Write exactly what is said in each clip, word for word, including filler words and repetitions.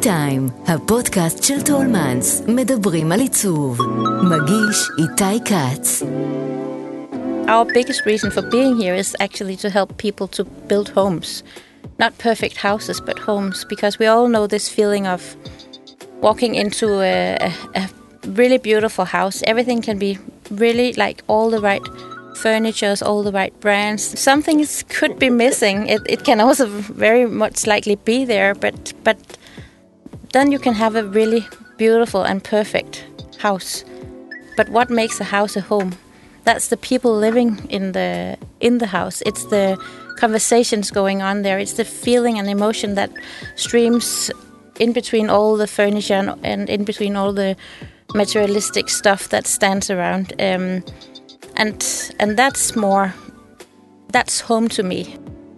T-Time, הפודקאסט של טולמנס, מדברים על עיצוב. מגיש איתי קץ. Our biggest reason for being here is actually to help people to build homes. Not perfect houses, but homes, because we all know this feeling of walking into a, a, a really beautiful house. Everything can be really like all the right furnitures, all the right brands. Something is, could be missing. It, it can also very much likely be there, but but then you can have a really beautiful and perfect house. But what makes a house a home? That's the people living in the in the house. It's the conversations going on there. It's the feeling and emotion that streams in between all the furniture and, and in between all the materialistic stuff that stands around. Um, and and that's more. That's home to me.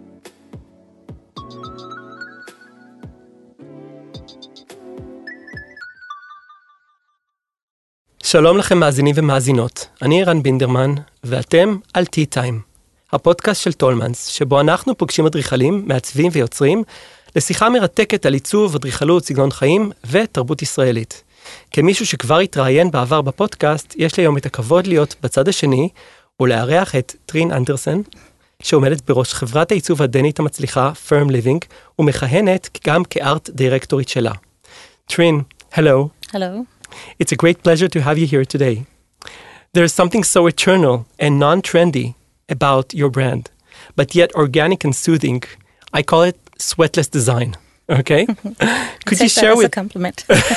שלום לכם מאזינים ומאזינות, אני רן בינדרמן, ואתם על T-Time, הפודקאסט של טולמנס, שבו אנחנו פוגשים אדריכלים, מעצבים ויוצרים, לשיחה מרתקת על עיצוב, אדריכלות, סגנון חיים ותרבות ישראלית. כמישהו שכבר התראיין בעבר בפודקאסט, יש לי היום את הכבוד להיות בצד השני, ולארח את טרין אנדרסן, שעומדת בראש חברת העיצוב הדנית המצליחה, Firm Living, ומכהנת גם כארט דירקטורית שלה. טרין, hello. Hello. It's a great pleasure to have you here today. There's something so eternal and non-trendy about your brand, but yet organic and soothing. I call it sweatless design. Okay? Could you share that as with a compliment?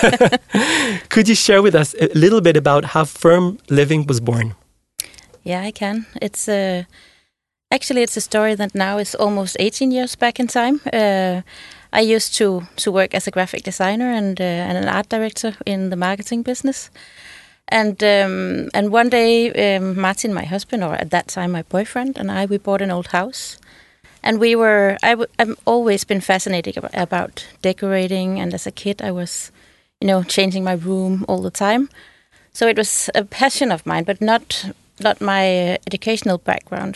Could you share with us a little bit about how Firm Living was born? Yeah, I can. It's uh, actually it's a story that now is almost eighteen years back in time. Uh, I used to, to work as a graphic designer and uh, and an art director in the marketing business. And um, and one day, um, Martin, my husband, or at that time my boyfriend, and I, we bought an old house. And we were, I w- I've always been fascinated about, about decorating. And as a kid, I was, you know, changing my room all the time. So it was a passion of mine, but not not my uh, educational background.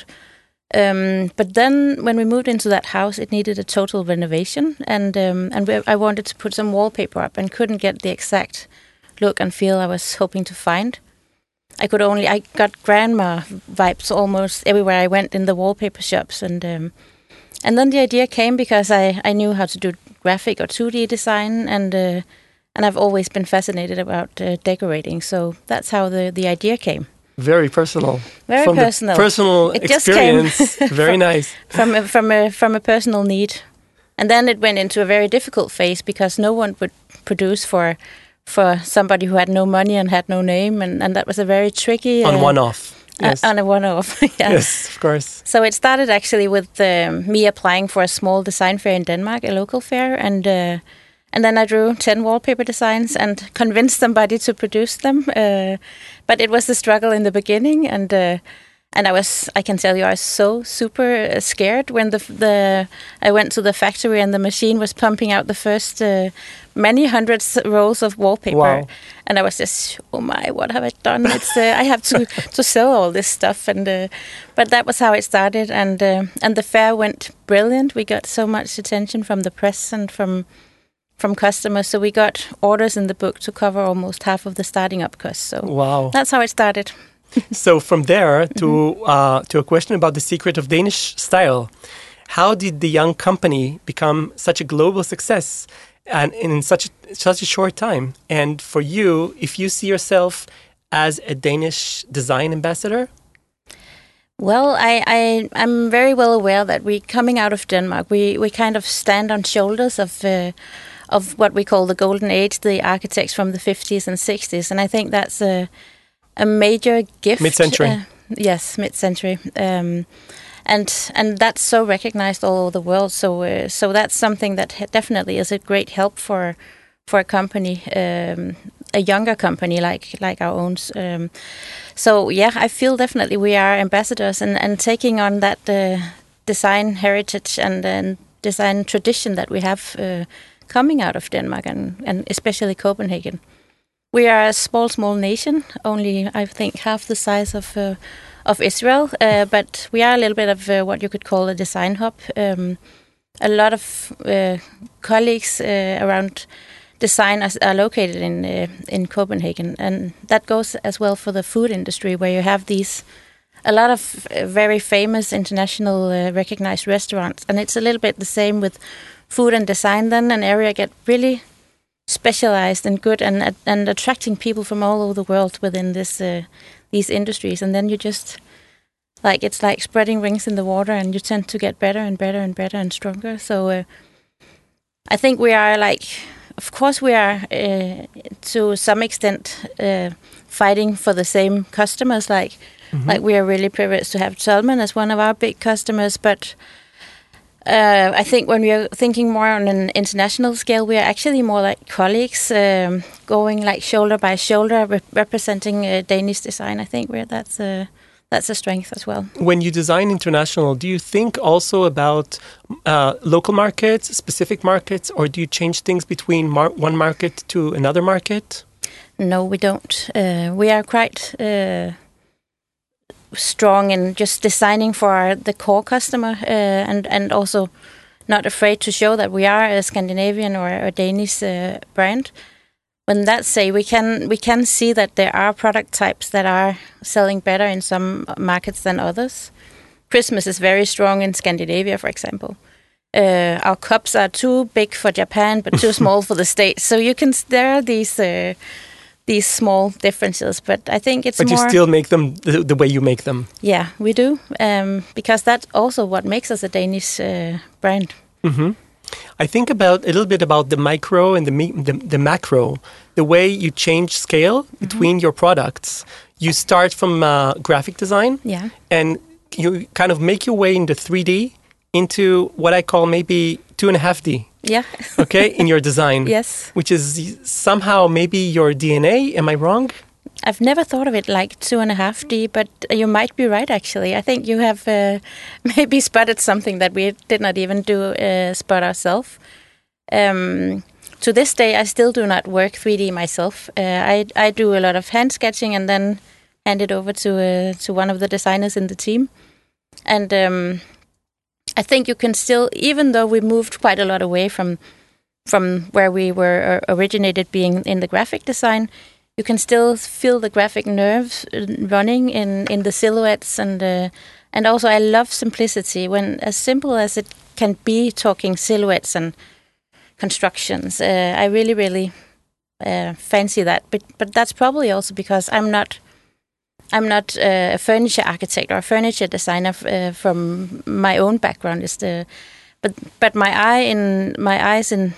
Um, but then when we moved into that house, it needed a total renovation, and um, and we, I wanted to put some wallpaper up and couldn't get the exact look and feel I was hoping to find. I could only, I got grandma vibes almost everywhere I went in the wallpaper shops, and um, and then the idea came because I, I knew how to do graphic or two D design, and uh, and I've always been fascinated about uh, decorating, so that's how the, the idea came. Very personal. Very from personal. The personal it experience. Just came Very from, nice. From a, from a from a personal need, and then it went into a very difficult phase because no one would produce for for somebody who had no money and had no name, and, and that was a very tricky On uh, one-off. Yes. Uh, on a one-off. yeah. Yes, of course. So it started actually with um, me applying for a small design fair in Denmark, a local fair, and. Uh, And then I drew ten wallpaper designs and convinced somebody to produce them. Uh, but it was a struggle in the beginning, and uh, and I was, I can tell you, I was so super scared when the the I went to the factory and the machine was pumping out the first uh, many hundreds rolls of wallpaper, wow. and I was just, oh my, what have I done? It's uh, I have to to sell all this stuff, and uh, but that was how it started, and uh, and the fair went brilliant. We got so much attention from the press and from. from customers, so we got orders in the book to cover almost half of the starting up costs. So wow. That's how it started. So from there to uh, to a question about the secret of Danish style, how did the young company become such a global success and in such such a short time? And for you, if you see yourself as a Danish design ambassador? Well, I, I, I'm very well aware that we, coming out of Denmark, we, we kind of stand on shoulders of uh, of what we call the golden age, the architects from the fifties and sixties, and I think that's a a major gift. Mid-century. Uh, yes, mid-century, um, and and that's so recognized all over the world. So uh, so that's something that definitely is a great help for for a company, um, a younger company like like our own. Um, so yeah, I feel definitely we are ambassadors and, and taking on that uh, design heritage and, and design tradition that we have. Uh, coming out of Denmark and, and especially Copenhagen. We are a small, small nation, only I think half the size of uh, of Israel, uh, but we are a little bit of uh, what you could call a design hub. Um, a lot of uh, colleagues uh, around designers are located in uh, in Copenhagen, and that goes as well for the food industry, where you have these a lot of uh, very famous international uh, recognized restaurants, and it's a little bit the same with food and design. Then an area get really specialized and good, and and attracting people from all over the world within this uh, these industries, and then you just like it's like spreading rings in the water, and you tend to get better and better and better and stronger. So uh, I think we are like. Of course, we are uh, to some extent uh, fighting for the same customers. Like, mm-hmm. like we are really privileged to have Tolman as one of our big customers. But uh, I think when we are thinking more on an international scale, we are actually more like colleagues, um, going like shoulder by shoulder, re- representing uh, Danish design. I think we're that's a that's a strength as well. When you design international, do you think also about uh, local markets, specific markets, or do you change things between mar- one market to another market? No, we don't. Uh, we are quite uh, strong in just designing for the core customer, uh, and and also not afraid to show that we are a Scandinavian or a Danish uh, brand. When that's say, we can we can see that there are product types that are selling better in some markets than others. Christmas is very strong in Scandinavia, for example. Uh, our cups are too big for Japan, but too small for the States. So you can there are these uh, these small differences, but I think it's but more. But you still make them the, the way you make them. Yeah, we do, um, because that's also what makes us a Danish uh, brand. Mm-hmm. I think about a little bit about the micro and the me- the, the macro, the way you change scale mm-hmm. between your products. You start from uh, graphic design, yeah, and you kind of make your way into three D, into what I call maybe two and a half D. Yeah. Okay, in your design. Yes. Which is somehow maybe your D N A. Am I wrong? I've never thought of it like two and a half D, but you might be right, actually. I think you have uh, maybe spotted something that we did not even do uh, spot ourselves. Um, to this day, I still do not work three D myself. Uh, I I do a lot of hand sketching and then hand it over to uh, to one of the designers in the team. And um, I think you can still, even though we moved quite a lot away from from where we were originated, being in the graphic design, you can still feel the graphic nerves running in, in the silhouettes, and uh, and also I love simplicity. When as simple as it can be, talking silhouettes and constructions, uh, I really really uh, fancy that. But but that's probably also because I'm not I'm not uh, a furniture architect or a furniture designer uh, from my own background. Is the but but my eye in my eyes in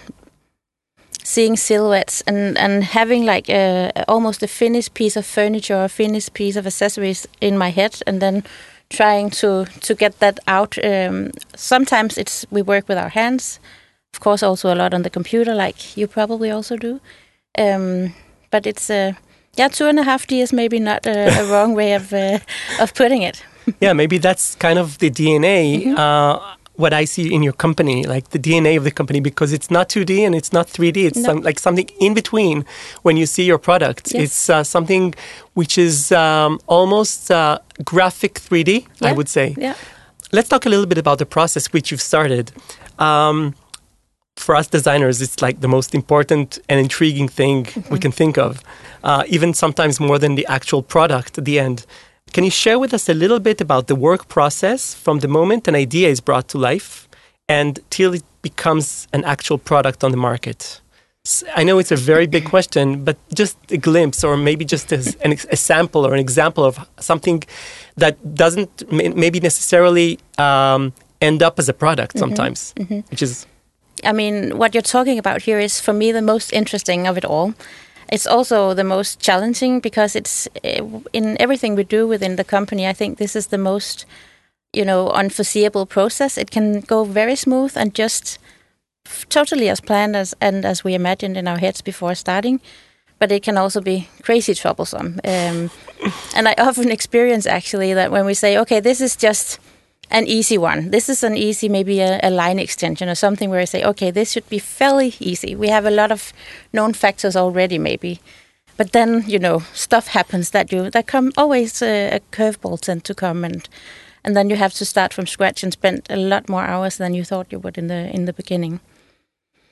seeing silhouettes and, and having like a, almost a finished piece of furniture or a finished piece of accessories in my head, and then trying to, to get that out. Um, sometimes it's we work with our hands, of course, also a lot on the computer, like you probably also do. Um, but it's uh, yeah, two and a half D is maybe not a, a wrong way of uh, of putting it. Yeah, maybe that's kind of the D N A. Mm-hmm. Uh, what I see in your company, like the D N A of the company, because it's not two D and it's not three D. It's no. some, like something in between when you see your product. Yes. It's uh, something which is um, almost uh, graphic three D, yeah. I would say. Yeah. Let's talk a little bit about the process which you've started. Um, for us designers, it's like the most important and intriguing thing mm-hmm. we can think of, uh, even sometimes more than the actual product at the end. Can you share with us a little bit about the work process from the moment an idea is brought to life and till it becomes an actual product on the market? I know it's a very big question, but just a glimpse, or maybe just as an, a sample or an example of something that doesn't maybe necessarily um, end up as a product mm-hmm. sometimes, mm-hmm. which is... I mean, what you're talking about here is, for me, the most interesting of it all. It's also the most challenging, because it's in everything we do within the company. I think this is the most, you know, unforeseeable process. It can go very smooth and just totally as planned as and as we imagined in our heads before starting, but it can also be crazy troublesome. Um, and I often experience actually that when we say, okay, this is just an easy one. This is an easy, maybe a, a line extension or something where I say, okay, this should be fairly easy. We have a lot of known factors already, maybe. But then, you know, stuff happens that you that come always uh, a curveball tend to come, and and then you have to start from scratch and spend a lot more hours than you thought you would in the in the beginning.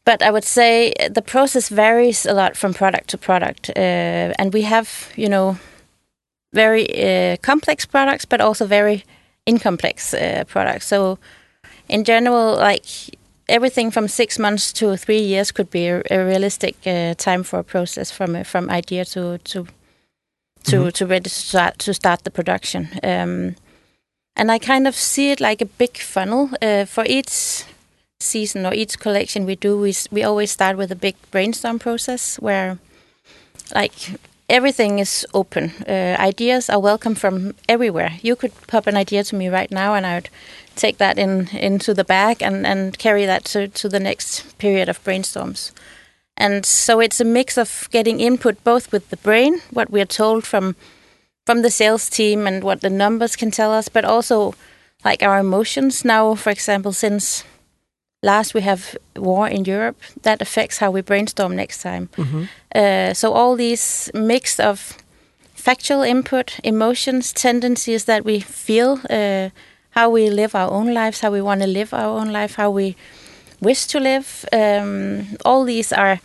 but I would say the process varies a lot from product to product, uh, and we have, you know, very uh, complex products, but also very incomplex uh, products. So, in general, like everything from six months to three years could be a, a realistic uh, time for a process from uh, from idea to to to mm-hmm. to ready to start, to start the production. Um, and I kind of see it like a big funnel uh, for each season or each collection we do. We we always start with a big brainstorm process where, like, everything is open. Uh, ideas are welcome from everywhere. You could pop an idea to me right now, and I would take that in into the bag and, and carry that to, to the next period of brainstorms. And so it's a mix of getting input both with the brain, what we are told from from the sales team and what the numbers can tell us, but also like our emotions. Now, for example, since last we have war in Europe, that affects how we brainstorm next time. Mm-hmm. Uh, so all these mix of factual input, emotions, tendencies that we feel, uh, how we live our own lives, how we want to live our own life, how we wish to live. Um, all these are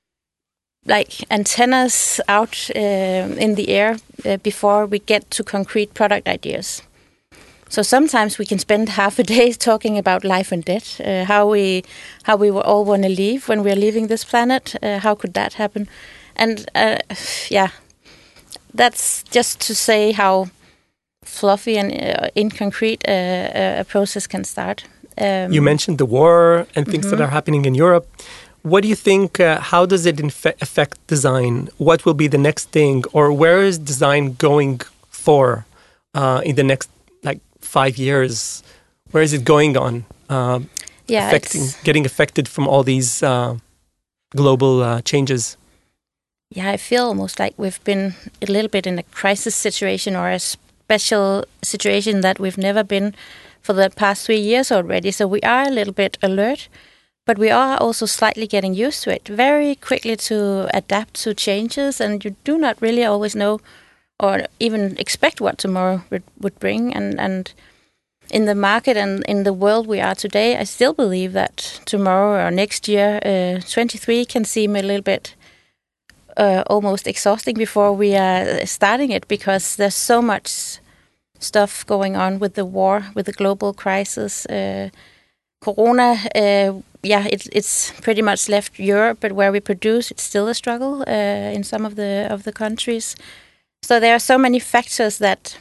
like antennas out uh, in the air uh, before we get to concrete product ideas. So sometimes we can spend half a day talking about life and death, uh, how we how we all want to leave when we're leaving this planet. Uh, how could that happen? And uh, yeah, that's just to say how fluffy and uh, inconcrete uh, a process can start. Um, you mentioned the war and things mm-hmm. that are happening in Europe. What do you think, uh, how does it infe- affect design? What will be the next thing? Or where is design going for uh, in the next like five years? Where is it going on? Uh, yeah, affecting, getting affected from all these uh, global uh, changes? Yeah, I feel almost like we've been a little bit in a crisis situation or a special situation that we've never been for the past three years already. So we are a little bit alert, but we are also slightly getting used to it, very quickly to adapt to changes, and you do not really always know or even expect what tomorrow would, would bring. And, and in the market and in the world we are today, I still believe that tomorrow or next year, uh, twenty-three can seem a little bit uh, almost exhausting before we are starting it, because there's so much stuff going on with the war, with the global crisis. Uh, Corona, uh, yeah, it, it's pretty much left Europe, but where we produce, it's still a struggle uh, in some of the of the countries. So there are so many factors that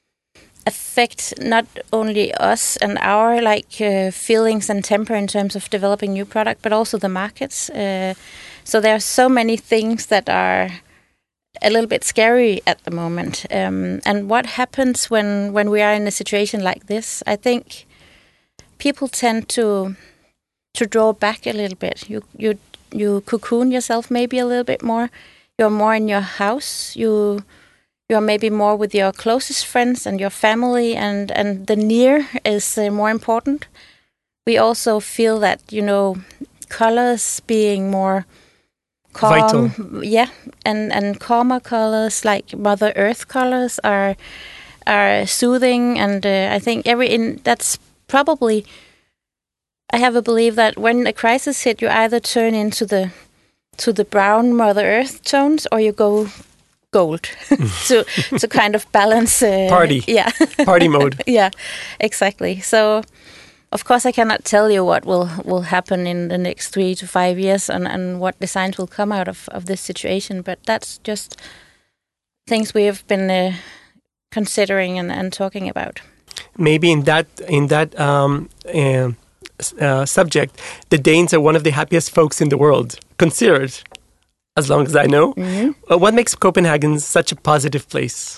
affect not only us and our like uh, feelings and temper in terms of developing new product, but also the markets. Uh, so there are so many things that are a little bit scary at the moment. Um, and what happens when, when we are in a situation like this? I think people tend to to draw back a little bit. You you you cocoon yourself maybe a little bit more. You're more in your house. You you're maybe more with your closest friends and your family, and, and the near is uh, more important. We also feel that, you know, colors being more calm, vital. Yeah, and, and calmer colors like Mother Earth colors are are soothing, and uh, I think every in that's probably. I have a belief that when a crisis hit, you either turn into the to the brown Mother Earth tones, or you go gold to to kind of balance uh, party. Yeah, party mode. Yeah, exactly. So, of course, I cannot tell you what will, will happen in the next three to five years and, and what designs will come out of, of this situation. But that's just things we have been uh, considering and, and talking about. Maybe in that in that. Um, uh, Uh, subject, the Danes are one of the happiest folks in the world, considered, as long as I know. Mm-hmm. Uh, what makes Copenhagen such a positive place?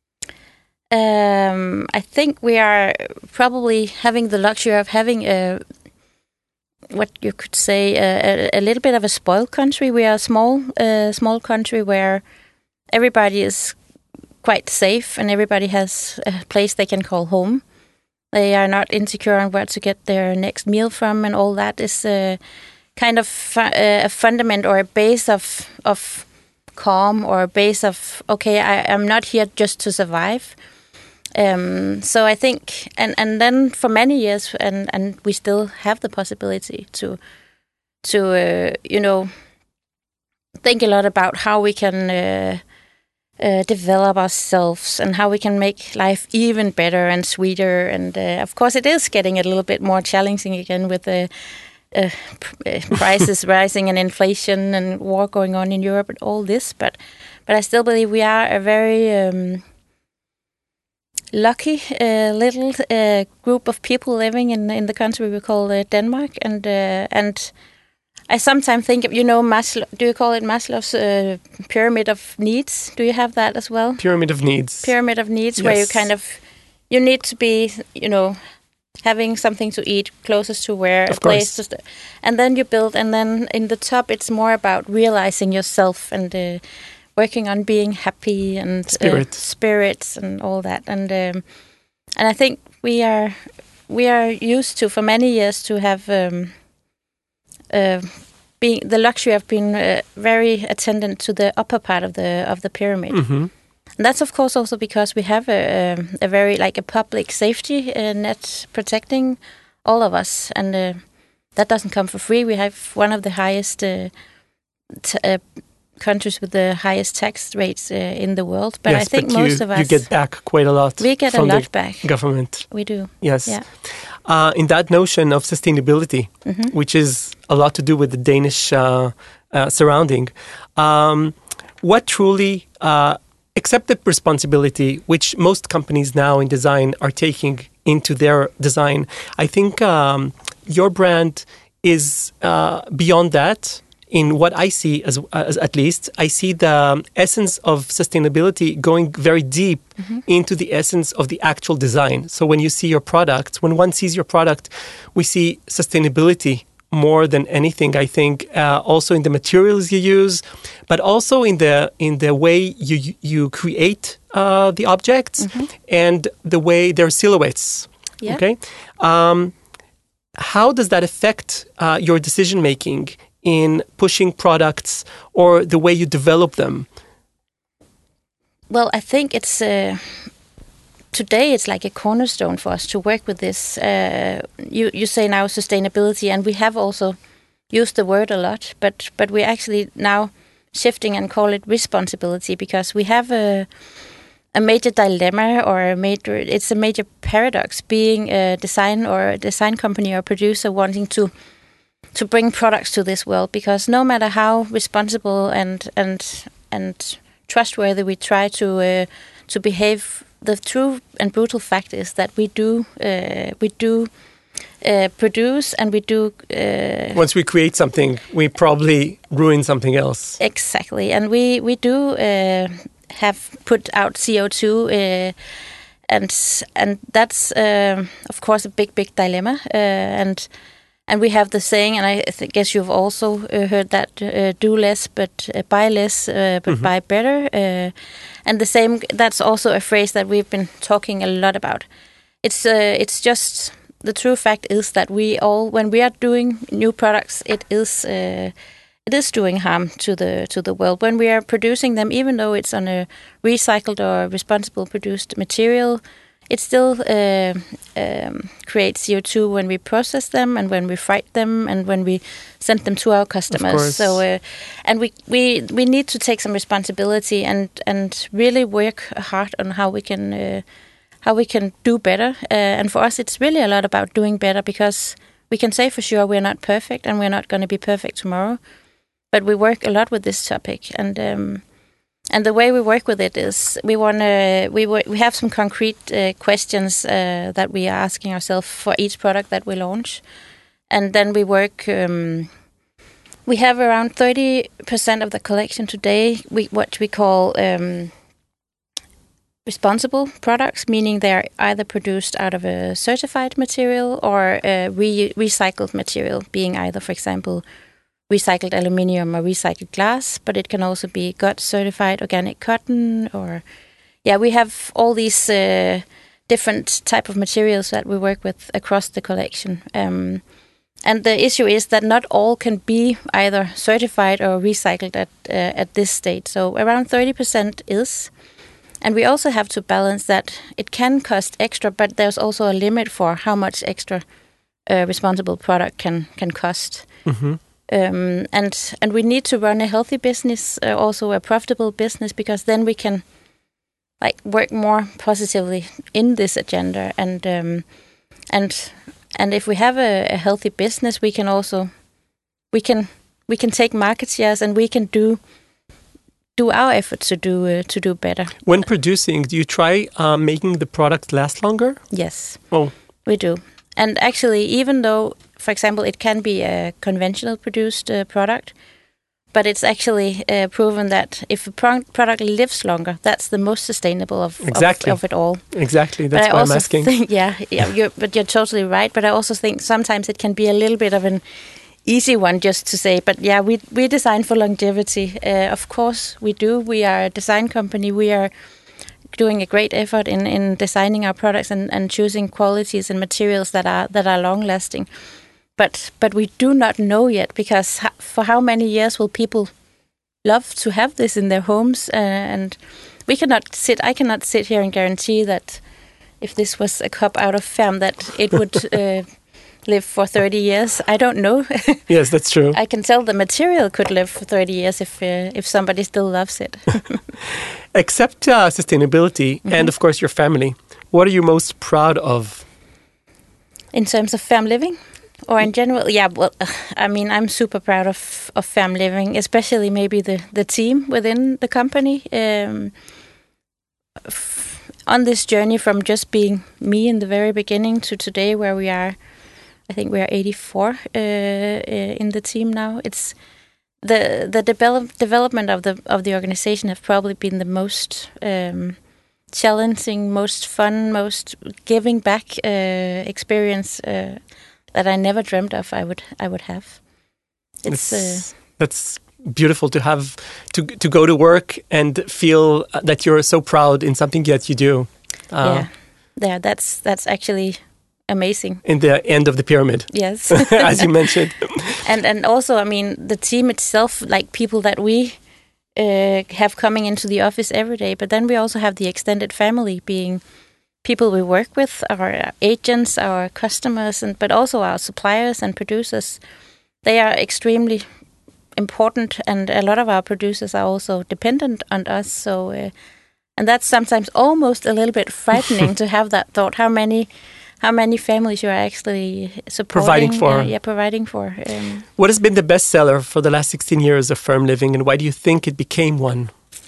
Um, I think we are probably having the luxury of having a, what you could say, a, a little bit of a spoiled country. We are a small, uh, small country where everybody is quite safe and everybody has a place they can call home. They are not insecure on where to get their next meal from, and all that is uh, kind of fu- uh, a fundament or a base of of calm, or a base of, okay, I, I'm not here just to survive. Um, so I think, and, and then for many years, and, and we still have the possibility to to uh, you know think a lot about how we can uh, uh, develop ourselves and how we can make life even better and sweeter. And uh, of course, it is getting a little bit more challenging again with the uh, uh, prices rising and inflation and war going on in Europe and all this. But but I still believe we are a very um, lucky uh, little uh, group of people living in in the country we call uh, Denmark, and uh, and I sometimes think of, you know, Maslow. Do you call it Maslow's uh, pyramid of needs? Do you have that as well? Pyramid of needs. Pyramid of needs, Yes. where you kind of you need to be, you know, having something to eat closest to where Of a place course. to st- and then you build, and then in the top it's more about realizing yourself and uh, working on being happy and Spirit. uh, spirits and all that. And um, and I think we are we are used to for many years to have um, uh, being the luxury of being uh, very attendant to the upper part of the of the pyramid. Mm-hmm. And that's of course also because we have a, um, a very like a public safety uh, net protecting all of us, and uh, that doesn't come for free. We have one of the highest uh, t- uh, countries with the highest tax rates uh, in the world. But yes, I think but most you, of us you get back quite a lot. we get a from lot the back. government. We do. Yes. Yeah. Uh, in that notion of sustainability, Mm-hmm. which is a lot to do with the Danish uh, uh, surrounding, um, what truly uh, accepted responsibility, which most companies now in design are taking into their design. I think um, your brand is uh, beyond that. In what I see, as, as at least, I see the essence of sustainability going very deep mm-hmm. into the essence of the actual design. So when you see your product, when one sees your product, we see sustainability more than anything. I think uh, also in the materials you use, but also in the in the way you you create uh, the objects mm-hmm. and the way their silhouettes. Yeah. Okay, um, how does that affect uh, your decision making in pushing products or the way you develop them? Well, I think it's uh, today it's like a cornerstone for us to work with this. Uh, you you say now sustainability, and we have also used the word a lot, but but we're actually now shifting and call it responsibility, because we have a a major dilemma or a major it's a major paradox being a design or a design company or producer wanting to to bring products to this world, because no matter how responsible and and and trustworthy we try to uh, to behave, the true and brutal fact is that we do uh, we do uh, produce and we do uh, once we create something, we probably ruin something else. Exactly, and we we do uh, have put out C O two, uh, and and that's uh, of course a big big dilemma, uh, and. And we have the saying, and I th- guess you've also uh, heard that, uh, do less but uh, buy less, uh, but mm-hmm. buy better. Uh, and the same, that's also a phrase that we've been talking a lot about. It's uh, it's just, the true fact is that we all, when we are doing new products, it is uh, it is doing harm to the to the world. When we are producing them, even though it's on a recycled or responsible produced material, it still uh, um, creates C O two when we process them and when we freight them and when we send them to our customers. So, uh, and we, we we need to take some responsibility and, and really work hard on how we can uh, how we can do better. Uh, and for us, it's really a lot about doing better, because we can say for sure we're not perfect and we're not going to be perfect tomorrow, but we work a lot with this topic. And um, And the way we work with it is we want to we we have some concrete uh, questions uh, that we are asking ourselves for each product that we launch, and then we work. Um, we have around thirty percent of the collection today. We what we call um, responsible products, meaning they are either produced out of a certified material or a re- recycled material, being either, for example, recycled aluminium or recycled glass, but it can also be G O T certified organic cotton, or yeah, we have all these uh, different type of materials that we work with across the collection. Um, and the issue is that not all can be either certified or recycled at uh, at this stage. So around thirty percent is, and we also have to balance that it can cost extra, but there's also a limit for how much extra uh, responsible product can can cost. Mm-hmm. Um, and and we need to run a healthy business, uh, also a profitable business, because then we can like work more positively in this agenda. And um, and and if we have a, a healthy business, we can also we can we can take market shares, and we can do do our efforts to do uh, to do better. When producing, do you try uh, making the product last longer? Yes. Oh, we do. And actually, even though, for example, it can be a conventional produced uh, product, but it's actually uh, proven that if a pro- product lives longer, that's the most sustainable of, exactly. of, of it all. Exactly, that's why I'm asking. Think, yeah, yeah you're, but you're totally right. But I also think sometimes it can be a little bit of an easy one just to say, but yeah, we we design for longevity. Uh, of course, we do. We are a design company. We are doing a great effort in, in designing our products and, and choosing qualities and materials that are that are long lasting. But but we do not know yet, because ha- for how many years will people love to have this in their homes? Uh, and we cannot sit. I cannot sit here and guarantee that if this was a cup out of Färm, that it would uh, live for thirty years. I don't know. Yes, that's true. I can tell the material could live for thirty years if uh, if somebody still loves it. Except uh, sustainability mm-hmm. and, of course, your family, what are you most proud of? In terms of Färm Living? Or in general? Yeah, well, I mean, I'm super proud of, of Färm Living, especially maybe the, the team within the company. Um, f- on this journey from just being me in the very beginning to today, where we are, I think we are eighty-four uh, uh, in the team now. It's the the develop, development of the of the organization have probably been the most um, challenging, most fun, most giving back uh, experience uh, that I never dreamt of I would I would have. It's uh, that's beautiful to have to to go to work and feel that you're so proud in something that you do. Uh, yeah, yeah, that's that's actually amazing. In the end of the pyramid. Yes. As you mentioned. And and also, I mean, the team itself, like people that we uh, have coming into the office every day, but then we also have the extended family, being people we work with, our agents, our customers, and but also our suppliers and producers. They are extremely important, and a lot of our producers are also dependent on us. So, uh, and that's sometimes almost a little bit frightening to have that thought. How many How many families you are actually supporting? Providing for. Uh, yeah, providing for. Um, what has been the best seller for the last sixteen years of Färm Living, and why do you think it became one?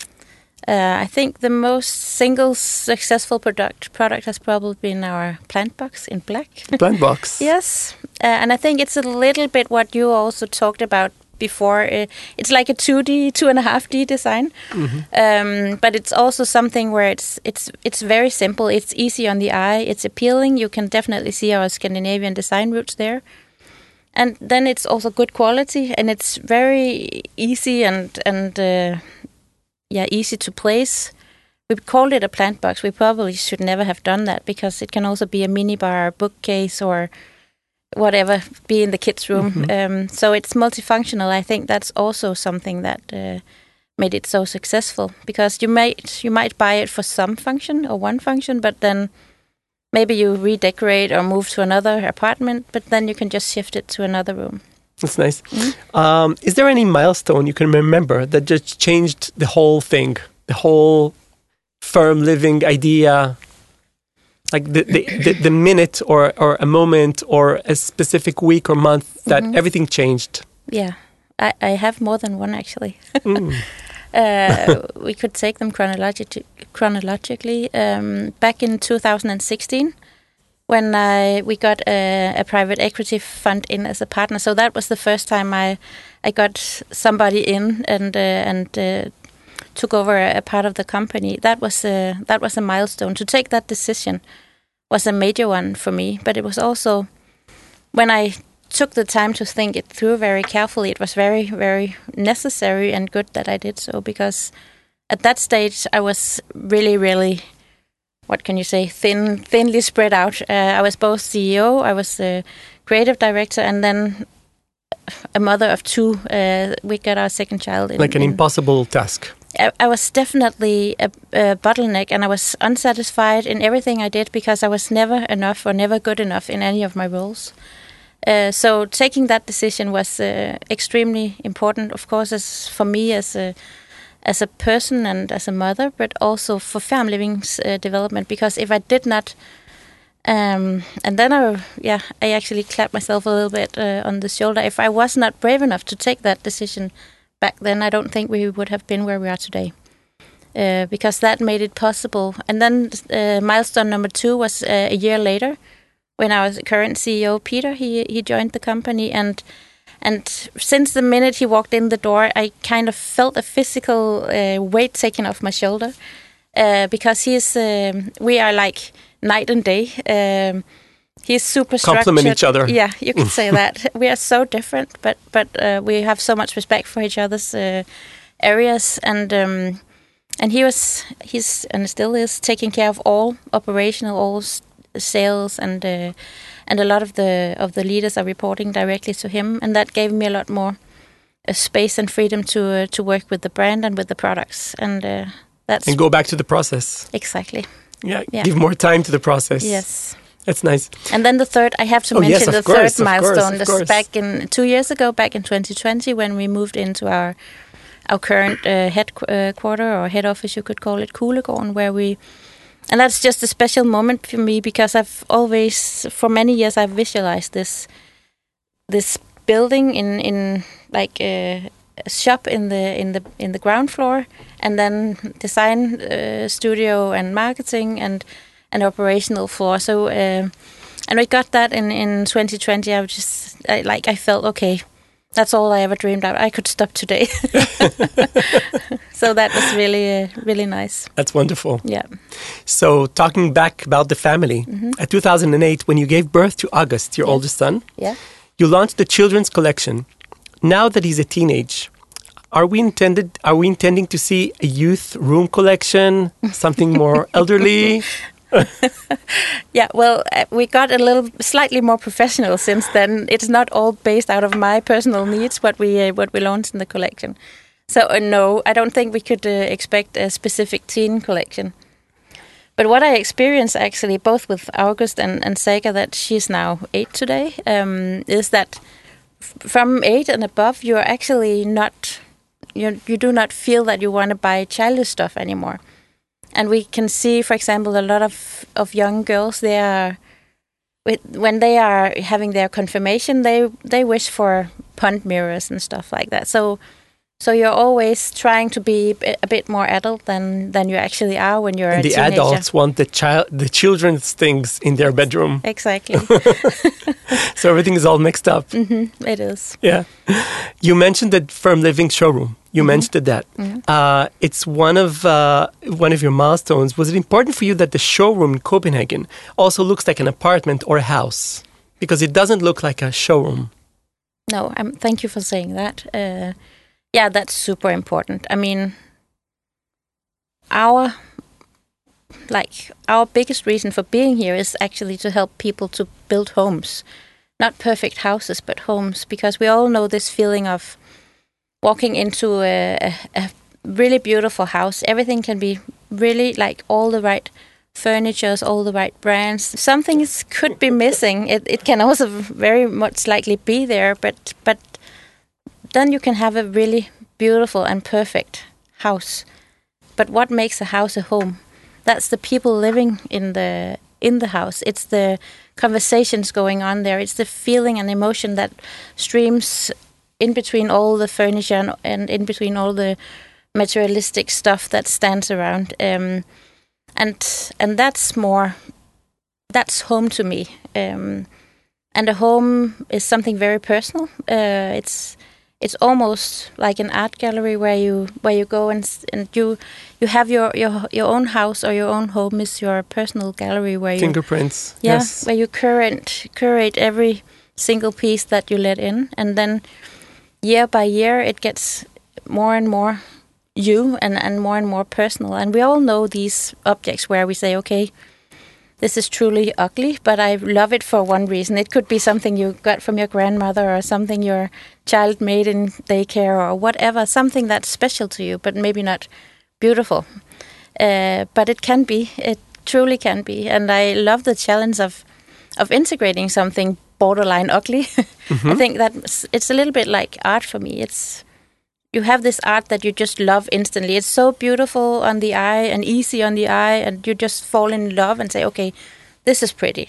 Uh, I think the most single successful product product has probably been our plant box in black. Plant box. Yes, uh, and I think it's a little bit what you also talked about before. Uh, it's like a two D, two and a half D design, mm-hmm. um, but it's also something where it's it's it's very simple. It's easy on the eye. It's appealing. You can definitely see our Scandinavian design roots there, and then it's also good quality, and it's very easy and and uh, yeah, easy to place. We called it a plant box. We probably should never have done that, because it can also be a mini bar, bookcase, or whatever, be in the kids' room. Mm-hmm. Um, so it's multifunctional. I think that's also something that uh, made it so successful, because you might you might buy it for some function or one function, but then maybe you redecorate or move to another apartment, but then you can just shift it to another room. That's nice. Mm-hmm. Um, is there any milestone you can remember that just changed the whole thing, the whole Färm Living idea? Like the, the, the, the minute or, or a moment or a specific week or month that mm-hmm. everything changed? Yeah, I, I have more than one, actually. mm. uh, we could take them chronologi- chronologically. Um, back in two thousand sixteen, when I, we got a, a private equity fund in as a partner. So that was the first time I I got somebody in and uh, and uh, took over a, a part of the company. That was a, that was a milestone. To take that decision was a major one for me. But it was also, when I took the time to think it through very carefully, it was very, very necessary and good that I did so, because at that stage I was really, really, what can you say, thin, thinly spread out. Uh, I was both C E O, I was the creative director, and then a mother of two. Uh, we got our second child. In, like an in, impossible task. I, I was definitely a, a bottleneck, and I was unsatisfied in everything I did, because I was never enough or never good enough in any of my roles. Uh, so taking that decision was uh, extremely important, of course, as for me as a as a person and as a mother, but also for Ferm Living's uh, development. Because if I did not, um, and then I yeah I actually clapped myself a little bit uh, on the shoulder. If I was not brave enough to take that decision back then, I don't think we would have been where we are today. Uh, because that made it possible. And then uh, milestone number two was uh, a year later, when our current C E O Peter he he joined the company, and and since the minute he walked in the door, I kind of felt a physical uh, weight taken off my shoulder, uh, because he's um, we are like night and day. Um, he's super structured. Complement each other. Yeah, you could say that. We are so different, but but uh, we have so much respect for each other's uh, areas, and. Um, And he was, he's and still is taking care of all operational, all s- sales, and uh, and a lot of the of the leaders are reporting directly to him, and that gave me a lot more uh, space and freedom to uh, to work with the brand and with the products, and uh, that's And go back to the process. exactly. Yeah, Yeah. give more time to the process. Yes. That's nice. And then the third, I have to Oh, yes, mention of the course, third of course, milestone. of This course. back in two years ago, back in twenty twenty, when we moved into our our current uh, headquarter or head office, you could call it, Kuglegården, where we, and that's just a special moment for me, because I've always, for many years, I've visualized this this building in in like a, a shop in the in the in the ground floor, and then design uh, studio and marketing and an operational floor. So uh, and we got that in in twenty twenty. I was just I, like I felt okay. That's all I ever dreamed of. I could stop today. So that was really, uh, really nice. That's wonderful. Yeah. So talking back about the family, Mm-hmm. at two thousand eight, when you gave birth to August, your Yes. oldest son, Yeah. you launched the children's collection. Now that he's a teenage, are we intended? Are we intending to see a youth room collection, something more elderly? Yeah, well, uh, we got a little slightly more professional since then. It's not all based out of my personal needs what we uh, what we launched in the collection. So uh, no, I don't think we could uh, expect a specific teen collection. But what I experienced actually, both with August and, and Saga, that she's now eight today, um, is that f- from eight and above, you're actually not, you you do not feel that you want to buy childish stuff anymore. And we can see, for example, a lot of, of young girls, they are, with- when they are having their confirmation, they they wish for pond mirrors and stuff like that. So so you're always trying to be a a bit more adult than, than you actually are when you're And a the teenager. adults want the child, the children's things in their bedroom. Exactly. So everything is all mixed up. hmm It is. Yeah. You mentioned the Ferm Living showroom. You mentioned that. Uh, it's one of uh, one of your milestones. Was it important for you that the showroom in Copenhagen also looks like an apartment or a house? Because it doesn't look like a showroom. No, um, thank you for saying that. Uh, yeah, that's super important. I mean, our like our biggest reason for being here is actually to help people to build homes, not perfect houses, but homes, because we all know this feeling of walking into a, a, a really beautiful house. Everything can be really like all the right furnitures, all the right brands. Some things could be missing. It it can also very much likely be there, but but then you can have a really beautiful and perfect house. But what makes a house a home? That's the people living in the in the house. It's the conversations going on there. It's the feeling and emotion that streams in between all the furniture and, and in between all the materialistic stuff that stands around. Um, and and that's more, that's home to me. Um, and a home is something very personal. Uh, it's it's almost like an art gallery where you where you go and s- and you you have your, your your own house, or your own home is your personal gallery where you Fingerprints. yeah Yes. where you curate curate every single piece that you let in, and then year by year it gets more and more you and, and more and more personal. And we all know these objects where we say, okay, this is truly ugly, but I love it for one reason. It could be something you got from your grandmother, or something your child made in daycare, or whatever, something that's special to you, but maybe not beautiful. Uh, but it can be, it truly can be. And I love the challenge of of integrating something borderline ugly. Mm-hmm. I think that it's a little bit like art for me. It's you have this art that you just love instantly. It's so beautiful on the eye and easy on the eye, and you just fall in love and say, okay, this is pretty.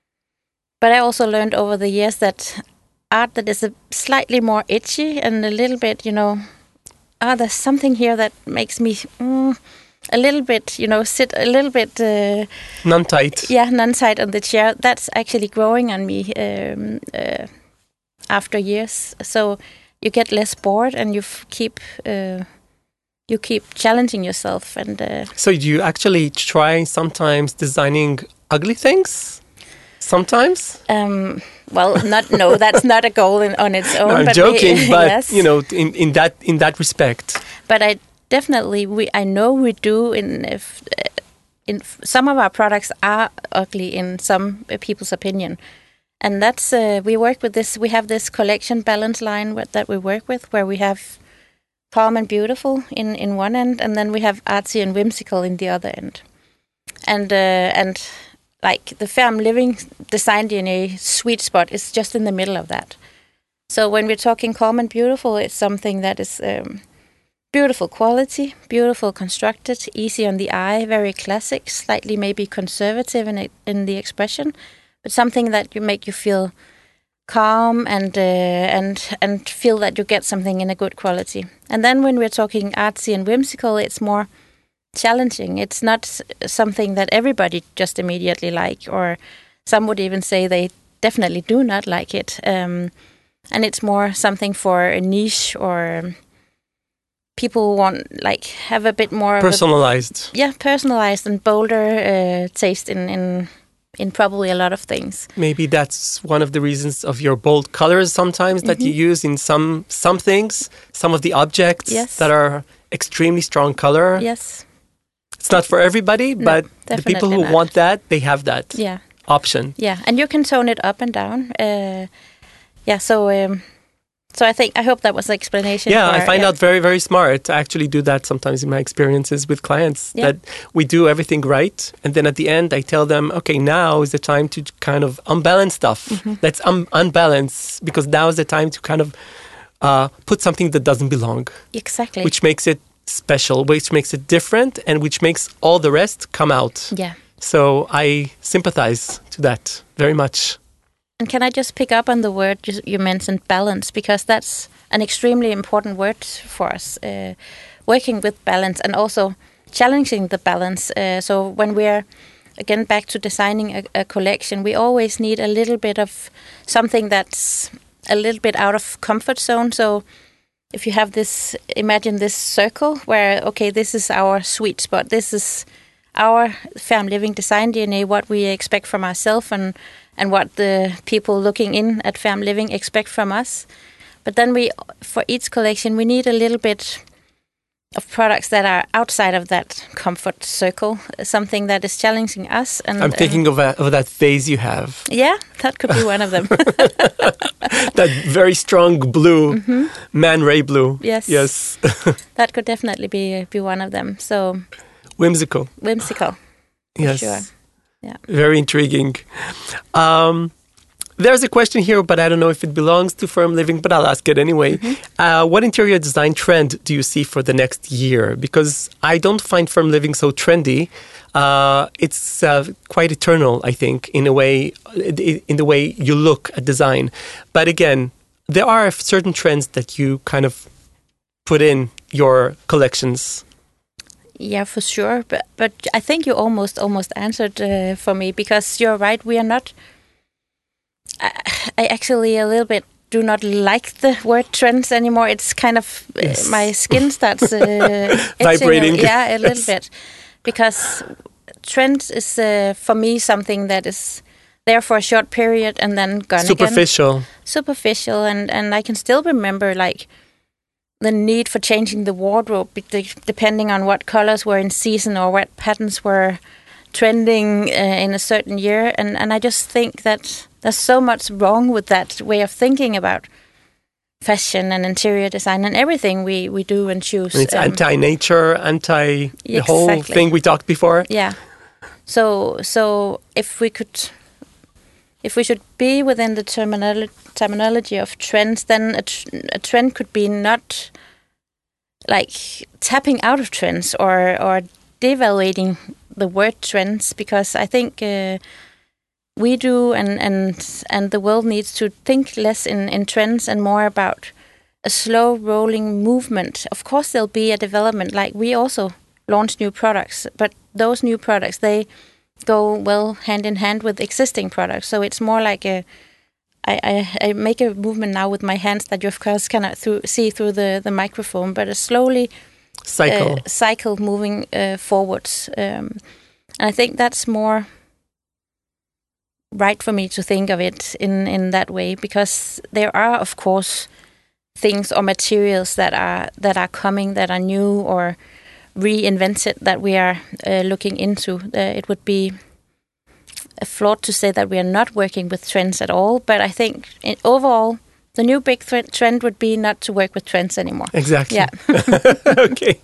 But I also learned over the years that art that is a slightly more itchy and a little bit, you know, ah, there's something here that makes me mm, a little bit, you know, sit a little bit... Uh, non-tight. Yeah, non-tight on the chair. That's actually growing on me um, uh, after years. So you get less bored and you f- keep... Uh, you keep challenging yourself. And uh, so do you actually try sometimes designing ugly things? Sometimes? Um, well, not no, that's not a goal in, on its own. No, I'm but joking, we, but yes. you know, in, in that in that respect. But I definitely we I know we do in if, in some of our products are ugly in some people's opinion, and that's uh, we work with this. We have this collection balance line with, that we work with, where we have calm and beautiful in, in one end, and then we have artsy and whimsical in the other end, and uh, and. Like the Fem Living Design D N A sweet spot is just in the middle of that. So when we're talking calm and beautiful, it's something that is um, beautiful quality, beautiful constructed, easy on the eye, very classic, slightly maybe conservative in it, in the expression, but something that you make you feel calm and uh, and and feel that you get something in a good quality. And then when we're talking artsy and whimsical, it's more challenging. It's not something that everybody just immediately like, or some would even say they definitely do not like it. Um, and it's more something for a niche, or people who want like have a bit more personalized. Of a, yeah, personalized and bolder uh, taste in, in in probably a lot of things. Maybe that's one of the reasons of your bold colors sometimes mm-hmm. that you use in some some things, some of the objects yes. that are extremely strong color. Yes. It's not for everybody, no, but the people who not. want that, they have that yeah. option. Yeah, and you can tone it up and down. Uh, yeah, so um, so I think, I hope that was the explanation. Yeah, for, I find yeah. out very, very smart. I actually do that sometimes in my experiences with clients, yeah. that we do everything right. And then at the end, I tell them, okay, now is the time to kind of unbalance stuff. Mm-hmm. Let's un- unbalance, because now is the time to kind of uh, put something that doesn't belong. Exactly. Which makes it special, which makes it different, and which makes all the rest come out. Yeah. So I sympathize to that very much. And can I just pick up on the word you mentioned, balance, because that's an extremely important word for us. Uh, working with balance and also challenging the balance. Uh, so when we're, again, back to designing a, a collection, we always need a little bit of something that's a little bit out of comfort zone. So if you have this, imagine this circle where, okay, this is our sweet spot. This is our Fem Living Design D N A, what we expect from ourselves and, and what the people looking in at Fem Living expect from us. But then we, for each collection, we need a little bit of products that are outside of that comfort circle, something that is challenging us. And I'm thinking uh, of, a, of that vase you have. Yeah, that could be one of them. That very strong blue, mm-hmm. Man Ray blue. Yes. Yes. That could definitely be be one of them. So whimsical. Whimsical. Yes. Sure. Yeah. Very intriguing. Um, There's a question here, but I don't know if it belongs to Fem Living, but I'll ask it anyway. Mm-hmm. Uh, what interior design trend do you see for the next year? Because I don't find Fem Living so trendy. Uh, it's uh, quite eternal, I think, in a way, in the way you look at design. But again, there are certain trends that you kind of put in your collections. Yeah, for sure. But but I think you almost almost answered uh, for me, because you're right. We are not. I, I actually a little bit do not like the word trends anymore. It's kind of uh, yes. my skin starts uh, vibrating. Yeah, a little yes. bit, because trends is uh, for me something that is there for a short period and then gone Superficial. again. Superficial, and and I can still remember like the need for changing the wardrobe depending on what colors were in season or what patterns were trending uh, in a certain year, and and I just think that there's so much wrong with that way of thinking about fashion and interior design and everything we, we do and choose. And it's um, anti-nature, anti the exactly. whole thing we talked before. Yeah. So so if we could if we should be within the terminolo- terminology of trends, then a, tr- a trend could be not like tapping out of trends or or devaluating the word trends, because I think uh, we do and and and the world needs to think less in in trends and more about a slow rolling movement. Of course, there'll be a development. Like we also launch new products, but those new products, they go well hand in hand with existing products. So it's more like a, I, I, I make a movement now with my hands that you of course cannot through, see through the, the microphone, but a slowly cycle, uh, cycle moving uh, forwards. Um, and I think that's more right for me to think of it in, in that way, because there are of course things or materials that are that are coming that are new or reinvented that we are uh, looking into. Uh, it would be a flawed to say that we are not working with trends at all, but I think in, overall the new big th- trend would be not to work with trends anymore. Exactly. Yeah. Okay.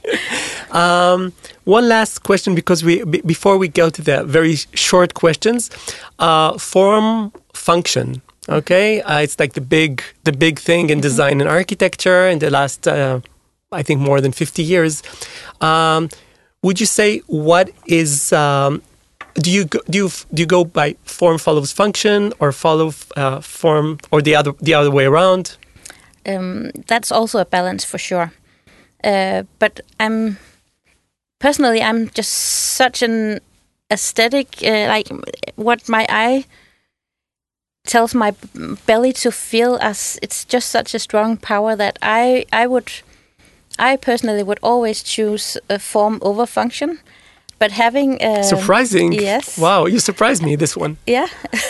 Um, one last question, because we b- before we go to the very short questions, uh, form function. Okay, uh, it's like the big the big thing in mm-hmm. design and architecture in the last, uh, I think, more than fifty years. Um, would you say what is um, do you go, do you do you go by form follows function, or follow uh, form, or the other the other way around? Um, that's also a balance for sure. Uh, but I'm personally I'm just such an aesthetic, uh, like what my eye tells my belly to feel, as it's just such a strong power that I I would I personally would always choose a form over function. But having uh, surprising, yes, wow, you surprised me this one. Yeah,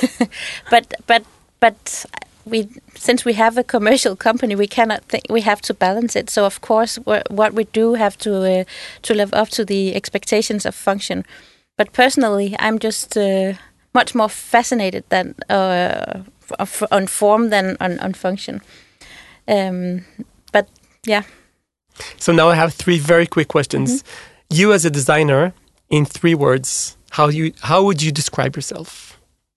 but but but we since we have a commercial company, we cannot think we have to balance it. So of course, what we do have to uh, to live up to the expectations of function. But personally, I'm just uh, much more fascinated than uh, on form than on, on function. Um, but yeah. So now I have three very quick questions. Mm-hmm. You as a designer, in three words, how you how would you describe yourself?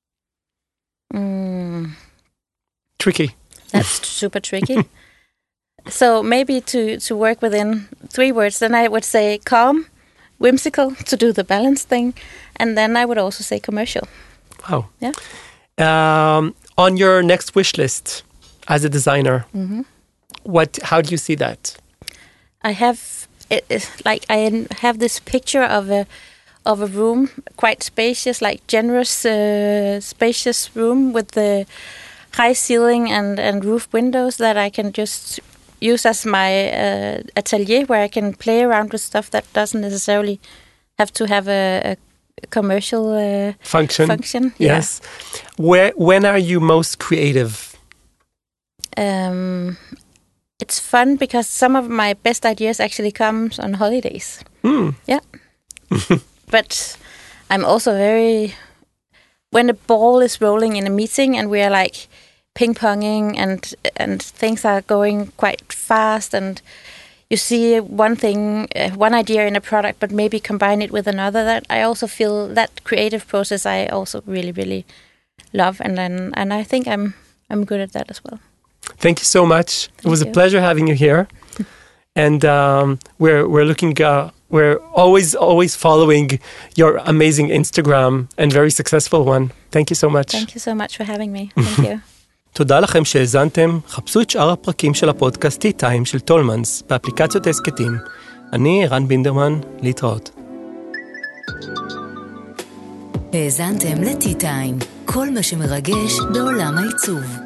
Mm. Tricky. That's super tricky. So maybe to, to work within three words, then I would say calm, whimsical, to do the balance thing, and then I would also say commercial. Wow. Yeah. Um, on your next wish list as a designer, mm-hmm. what? How do you see that? I have it, it, like I have this picture of a of a room, quite spacious, like generous, uh, spacious room with the high ceiling and, and roof windows that I can just use as my uh, atelier, where I can play around with stuff that doesn't necessarily have to have a, a commercial uh, function. Function, yes. Yeah. Where when are you most creative? Um, it's fun because some of my best ideas actually comes on holidays. Mm. Yeah. But I'm also very, when the ball is rolling in a meeting and we are like ping-ponging and and things are going quite fast, and you see one thing, uh, one idea in a product, but maybe combine it with another, that I also feel that creative process I also really, really love. And then, and I think I'm I'm good at that as well. Thank you so much. Thank it was you. a pleasure having you here. And um, we're we're looking uh, we're always always following your amazing Instagram and very successful one. Thank you so much. Thank you so much for having me. Thank you. תודה לכם שהאזנתם. חפשו את שאר הפרקים של הפודקאסט Tea Time של טולמנס באפליקציות הסקטים. אני רן בינדרמן, להתראות. האזנתם ל-Tea Time, כל מה שמרגש בעולם העיצוב.